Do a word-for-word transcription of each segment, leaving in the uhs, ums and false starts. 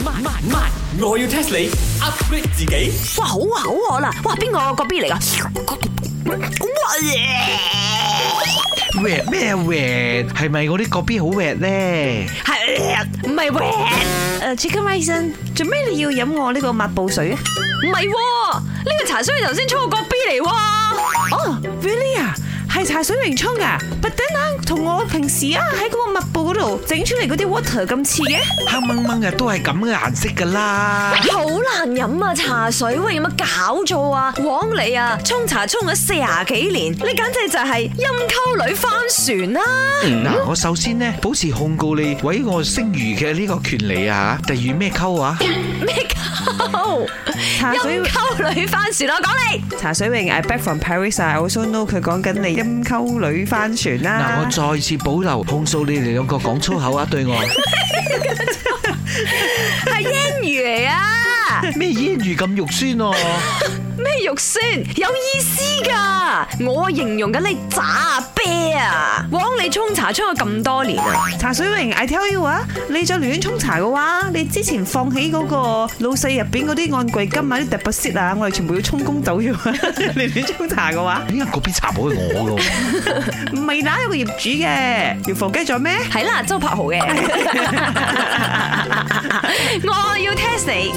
慢慢慢，我要 test 你 upgrade 自己。 哇，好啊好啊啦！哇，邊個個 B 嚟噶？哇耶！ Wet 咩 wet？ 係咪我啲個 B 好 wet 咧？ 係唔係 wet？誒 ，Chicken Rice，做咩你要飲我呢個抹布水啊？唔係，呢個茶水頭先沖個個 B 嚟喎。 哦 ，really 啊？係茶水榮沖噶，but then 啊，同我平時啊喺嗰個抹布嗰度整出嚟嗰啲 water 咁似嘅， 黑掹掹嘅都係咁嘅顏色噶啦。 好難飲啊茶水，喂，有乜搞錯啊？枉你啊，沖茶沖咗四廿幾年，你簡直就係陰溝女翻船啦！ 嗱，我首先咧保持控告你毀我聲譽嘅呢個權利啊，例如咩溝啊？ 咩溝？ 茶水陰溝女翻船，我講你。 茶水榮 I back from Paris I also know 佢講緊你陰溝女翻船嗱， 啦。 我再次保留控訴你哋兩個講粗口啊，對我係煙魚嚟啊！ 咩煙魚咁肉酸哦？ 咩肉酸有意思噶？我形容緊你渣啤啊！枉你沖茶沖咗咁多年啊！ 茶水榮 I tell you 啊，你再亂沖茶嘅話，你之前放喺嗰個老細入邊嗰啲按櫃金啊、啲 deposit 啊，我哋全部要充公走咗。你亂沖茶嘅話， 點解嗰邊茶寶係我噶？ 唔係哪有個業主嘅？要放雞咗咩？ 係啦，周柏豪嘅。我要 test 你。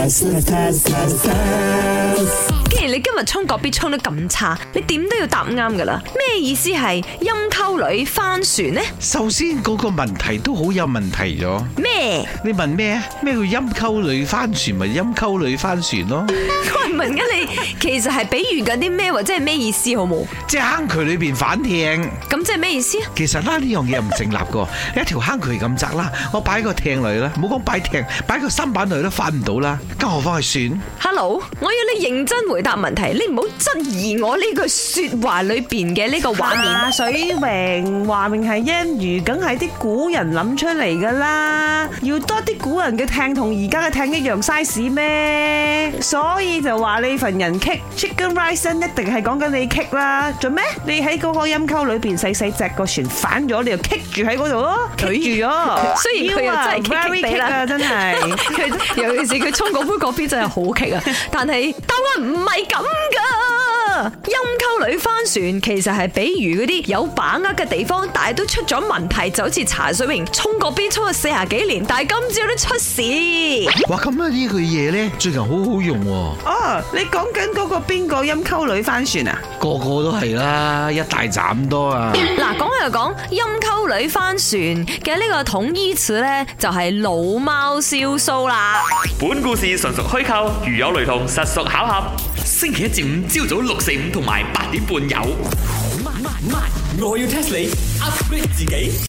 既然你今日沖個 B 沖得咁差，你點都要答啱噶啦。咩意思係陰溝女翻船呢？ 首先嗰個問題都好有問題咗。 咩？ 你問咩啊？咩叫陰溝女翻船？咪陰溝女翻船咯。 我係問緊你，其實係比喻緊啲咩，或者係咩意思好冇？ 即係坑渠裏邊反艇。 咁即係咩意思啊？ 其實啦，呢樣嘢唔成立噶。一條坑渠咁窄啦，我擺個艇嚟啦，唔好講擺艇，擺個舢板嚟都翻唔到啦，更何況係船。 Hello，我要你認真回答問題，你唔好質疑我呢句說話裏邊嘅呢個畫面。 茶水榮話明係煙魚，梗係啲古人諗出嚟噶啦。要多啲古人嘅艇同而家嘅艇一樣 size 咩？所以就話你份人棘 Chicken Rice 一定係講緊你棘啦。做咩？你喺嗰個陰溝裏邊細細隻個船反咗，你就棘住喺嗰度咯，棘住咗。 雖然佢又真係棘棘地啦， 真係佢尤其是佢沖嗰杯嗰邊真係好棘啊！但係答案唔係咁噶，陰溝女翻船其實係比喻嗰啲有把握嘅地方，但係都出咗問題，就好似茶水榮沖嗰邊沖咗四十幾年，但係今朝都出事。 哇，咁啊呢句嘢咧最近好好用喎。 哦，你講緊嗰個邊個陰溝女翻船啊？ 個個都係啦，一大扎咁多啊！ 嗱，講又講陰溝女翻船嘅呢個統依詞咧，就係老貓燒鬚啦。 本故事純屬虛構，如有雷同，實屬巧合。星期一至五朝早六四五同埋八點半有。慢慢慢，我要 test 你 upgrade 自己。